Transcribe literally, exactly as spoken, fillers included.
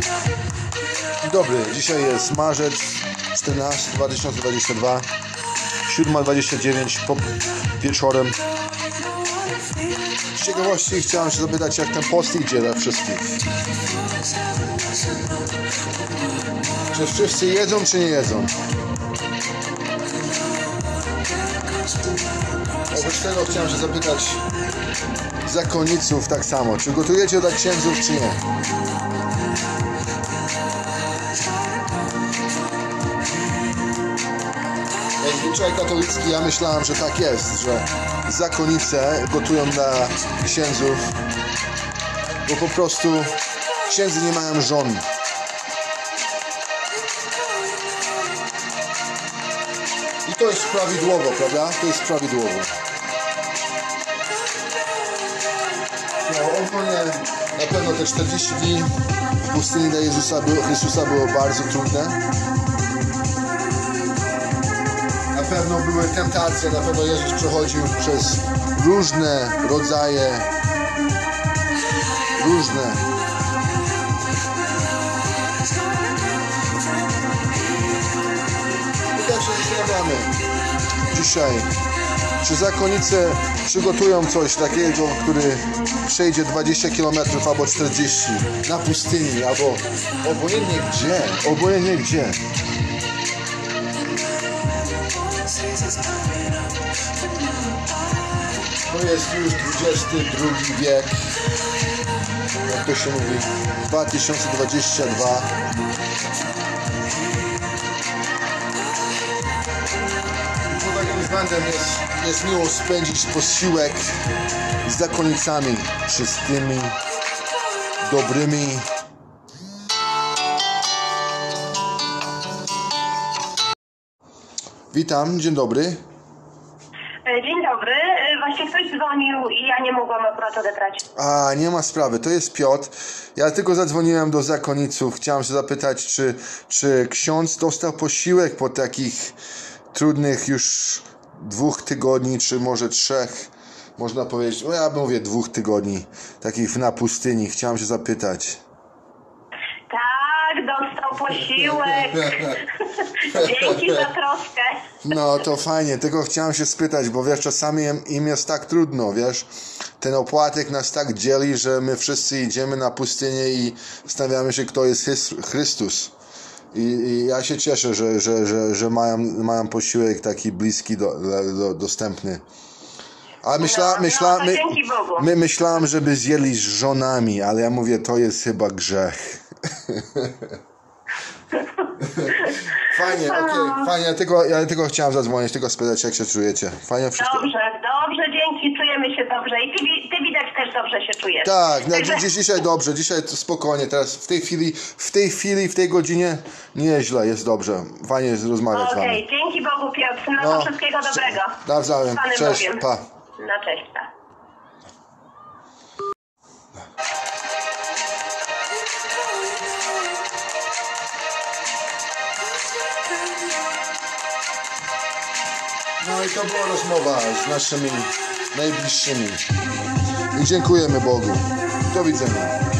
Dobry, dzisiaj jest marzec czternasty dwa tysiące dwudziesty drugi, siódma dwadzieścia dziewięć po wieczorem. Z ciekawości chciałem się zapytać, jak ten post idzie dla wszystkich. Czy wszyscy jedzą, czy nie jedzą? Oprócz tego chciałem się zapytać zakonniców tak samo. Czy gotujecie dla księdzów, czy nie? Jak zwyczaj katolicki, ja myślałem, że tak jest, że zakonnice gotują dla księdzów, bo po prostu księdzy nie mają żon. I to jest prawidłowo, prawda? To jest prawidłowo. No, ogólnie na pewno te czterdzieści dni w pustyni dla Jezusa, Chrystusa było bardzo trudne. Na pewno były tentacje, na pewno Jezus przechodził przez różne rodzaje, różne. I tak się zastanawiamy dzisiaj, czy zakonnice przygotują coś takiego, który przejdzie dwadzieścia kilometrów albo czterdzieści na pustyni, albo obojętnie gdzie, obojętnie gdzie. To jest już dwudziesty drugi wiek, jak to się mówi, dwa tysiące dwudziesty drugi. I pod takim względem jest, jest miło spędzić posiłek z zakonnicami czystymi, dobrymi. Witam, dzień dobry. Dzień dobry, właśnie ktoś dzwonił i ja nie mogłam akurat odebrać. A, nie ma sprawy, to jest Piotr. Ja tylko zadzwoniłem do zakonniców. Chciałem się zapytać, czy, czy ksiądz dostał posiłek po takich trudnych już dwóch tygodni, czy może trzech, można powiedzieć, no ja mówię dwóch tygodni, takich na pustyni. Chciałem się zapytać. Tak, dostał posiłek. Dzięki za troskę. No to fajnie, tylko chciałem się spytać, bo wiesz, czasami im jest tak trudno, wiesz, ten opłatek nas tak dzieli, że my wszyscy idziemy na pustynię i zastanawiamy się, kto jest Chrystus. I, i ja się cieszę, że, że, że, że mają, mają posiłek taki bliski, do, do, dostępny. A myśla, no, myśla, no, my, dzięki Bogu. my myślałem, żeby zjedli z żonami, ale ja mówię, to jest chyba grzech. Fajnie, okej, okay, fajnie, ja tylko, ja tylko chciałem zadzwonić, tylko spytać, jak się czujecie. Fajnie wszystko? Dobrze, dobrze, dzięki, czujemy się dobrze i ty, ty widać też dobrze się czujesz. Tak, no, Także... dziś, dzisiaj dobrze, dzisiaj spokojnie, teraz w tej chwili, w tej chwili, w tej godzinie nieźle, jest dobrze, fajnie jest rozmawiać z wami. Okej, okay, dzięki Bogu Piotr, no, no to wszystkiego dobrego. Nawzajem, cześć, Bogiem. pa. No cześć, pa. No i to była rozmowa z naszymi najbliższymi. I dziękujemy Bogu. Do widzenia.